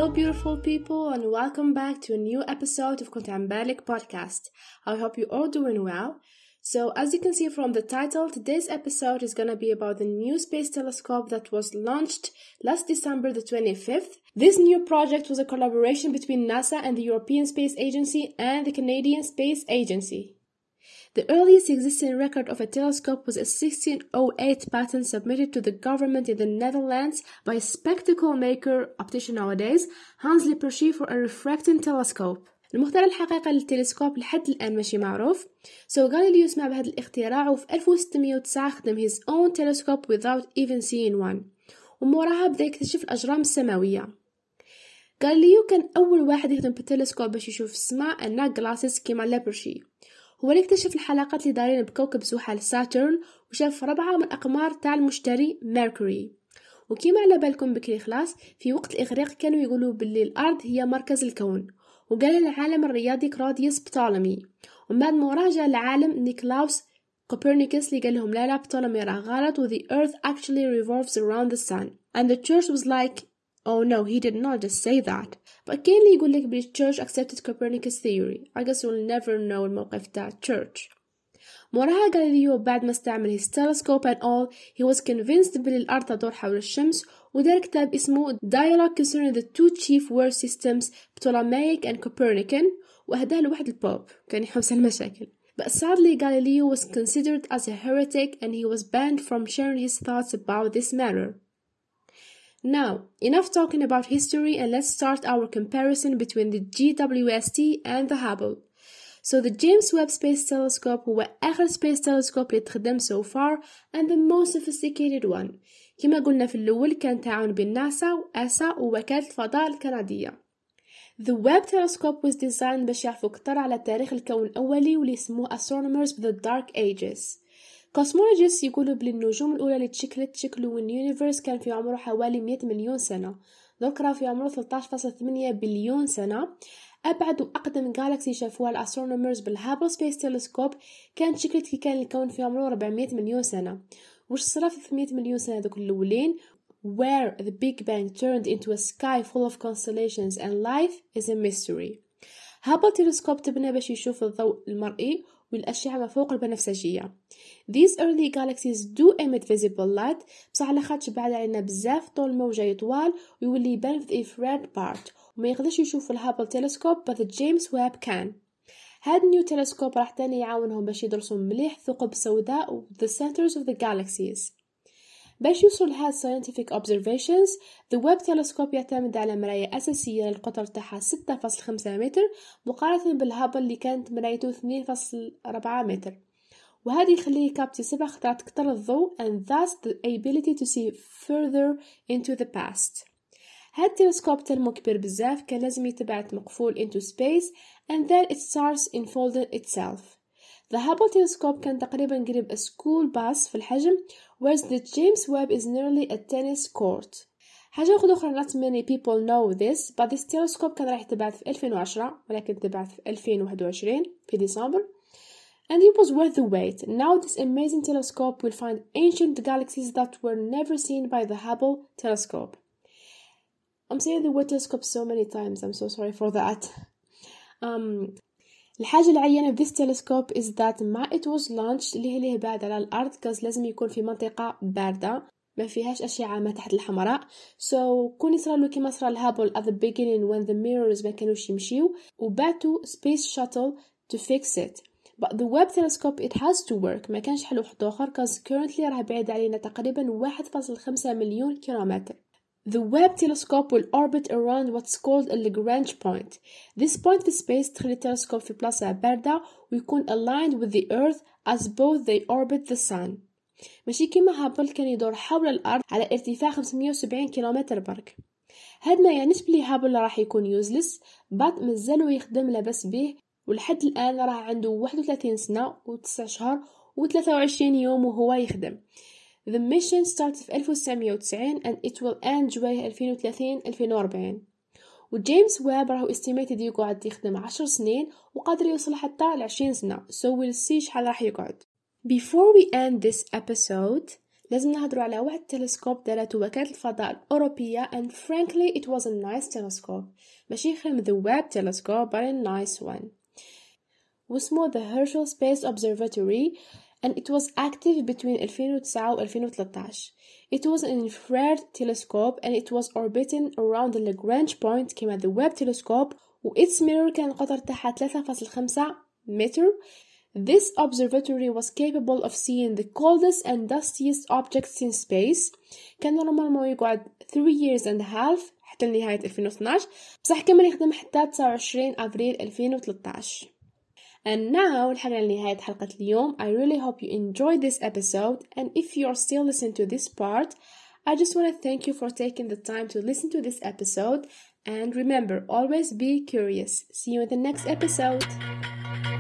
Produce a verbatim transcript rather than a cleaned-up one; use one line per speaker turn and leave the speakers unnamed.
beautiful people, and welcome back to a new episode of كنت عم بالك podcast. I hope you're all doing well. So as you can see from the title, today's episode is gonna be about the new space telescope that was launched last December the twenty-fifth. This new project was a collaboration between NASA and the European Space Agency and the Canadian Space Agency. The earliest existing record of a telescope was a sixteen oh eight patent submitted to the government in the Netherlands by a spectacle maker optician nowadays, Hans Lippershey, for a refracting telescope. المخترع الحقيقي للتلسكوب لحد الآن ماشي معروف. So غاليليو سمع بهذا الاختراع وفي ألف وستمية وتسعة خدم his own telescope without even seeing one. وموراها بدأ يكتشف الأجرام السماوية. غاليليو كان أول واحد يخدم بالتلسكوب باش يشوف السماء الناك جلاسز كيما ليبرشي. هو اللي اكتشف الحلقات اللي دايرين بكوكب زحل ساترن، وشاف ربعة من أقمار تاع المشتري ميركوري. وكيما على بالكم بكري خلاص، في وقت الإغريق كانوا يقولوا باللي الأرض هي مركز الكون، وقال العالم الرياضي كروديوس بطولمي. ومن بعد مراجع العالم نيكلاوس كوبرنيكوس اللي قال لهم لا لا بطولمي راه غلط و the earth actually revolves around the sun. And the church was like, oh no, he did not just say that. But كاين اللي يقول لك بلي church accepted Copernicus theory. I guess we'll never know الموقف تاع church. موراها غاليليو بعد ما استعمل his telescope and all, he was convinced بلي الأرض تدور حول الشمس، ودار كتاب اسمه Dialogue concerning the two chief world systems Ptolemaic and Copernican، وأهداه لواحد البوب كان يحوس المشاكل. But sadly Galileo was considered as a heretic and he was banned from sharing his thoughts about this matter. Now, enough talking about history, and let's start our comparison between the G W S T and the Hubble. So the James Webb Space Telescope هو آخر space telescope اللي تخدم so far and the most sophisticated one. كما قلنا في الأول كان تعاون بين ناسا وآسا ووكالة الفضاء الكندية. The Webb Telescope was designed باش يعرفوا أكتر على تاريخ الكون الأولي واللي يسموه astronomers of the Dark Ages. Cosmologists يقولوا بلي النجوم الأولى اللي تشكلت تشكلوا اليونيفرس كان في عمره حوالي مئة مليون سنة، ذكرى في عمره ثلاثة عشر فاصلة ثمانية بليون سنة. أبعد وأقدم جالكسي شافوها الأسترونومرز بالهابل سبيس تيلسكوب كانت شكلت كي كان الكون في عمره أربعمئة مليون سنة. وش صرا في ثمانمئة مليون سنة ذوك الأولين where the Big Bang turned into a sky full of constellations and life is a mystery. هابل تيلسكوب تبنى باش يشوف الضوء المرئي والأشعة ما فوق البنفسجية. These early galaxies do emit visible light، بصح على خاطش بعد علينا بزاف طول الموجة يطوال ويولي يبان في الإنفراد بارت، وما يقدرش يشوف الهابل تيلسكوب but the James Webb can. هاد نيو تيلسكوب راح تاني يعاونهم باش يدرسوا مليح ثقب سوداء و the centers of the galaxies. باش يوصل لهاد scientific observations the Webb telescope يعتمد على مراية أساسية للقطر تاعها ستة فاصلة خمسة متر مقارنة بالهابل اللي كانت مرايته اثنين فاصلة أربعة متر، وهذا يخليه يكابتي سبع خطرات أكثر الضوء and thus the ability to see further into the past. هاد التلسكوب تلمو كبير بزاف كان لازم يتبعت مقفول into space and then it starts unfolding itself. The Hubble telescope كان تقريبا قريب a school bus في الحجم whereas the James Webb is nearly a tennis court. حاجة أخرى not many people know this but this telescope كان راح يتبعت في ألفين وعشرة ولكن تبعت في ألفين وواحد وعشرين في ديسمبر and it was worth the wait. Now this amazing telescope will find ancient galaxies that were never seen by the Hubble telescope. I'm saying the word telescope so many times, I'm so sorry for that. Um, الحاجة العينة في this telescope is that ما it was launched اللي هي بعد على الأرض كاز لازم يكون في منطقة باردة ما فيهاش أشعة ما تحت الحمراء. So كون يصرالو كيما صرا الهابل at the beginning when the mirrors ما كانوش يمشيو وبعتوا space shuttle to fix it. But the Webb telescope it has to work. ما كانش حل واحد آخر كاز currently راه بعيد علينا تقريبا واحد فاصلة خمسة مليون كيلومتر. The Webb telescope will orbit around what's called a Lagrange point. This point في space تخلي التلسكوب في بلاصة باردة ويكون aligned with the Earth as both they orbit the Sun. ماشي كيما هابل كان يدور حول الأرض على ارتفاع خمسمئة وسبعين كيلومتر برك. هاد ما يعنيش بلي هابل راح يكون useless but مازالو يخدم لاباس به ولحد الآن راه عنده واحد وثلاثين سنة وتسعة شهور وثلاثة وعشرين يوم وهو يخدم. The mission started في ألف وتسعمئة وتسعين and it will end جواه ألفين وثلاثين ألفين وأربعين. وجيمس ويب راهو استيميتد يقعد يخدم عشر سنين وقادر يوصل حتى لعشرين سنة. So we'll see شحال راح يقعد. Before we end this episode, لازم نهضروا على واحد التلسكوب دارته وكالة الفضاء الأوروبية and frankly it was a nice telescope ماشي خير من the Webb telescope but a nice one واسمه the Herschel Space Observatory and it was active between ألفين وتسعة و ألفين وثلاثة عشر. It was an infrared telescope and it was orbiting around the Lagrange point كما the Webb telescope و its mirror كان القطر تاعها ثلاثة فاصلة خمسة متر. This observatory was capable of seeing the coldest and dustiest objects in space. كان نورمالمون يقعد three years and a half حتى لنهاية ألفين واثناعش بصح كمل يخدم حتى تسعة وعشرين أبريل ألفين وثلاثة عشر. And now لحقنا لنهاية حلقة اليوم. I really hope you enjoyed this episode and if you are still listening to this part I just want to thank you for taking the time to listen to this episode and remember always be curious. See you in the next episode.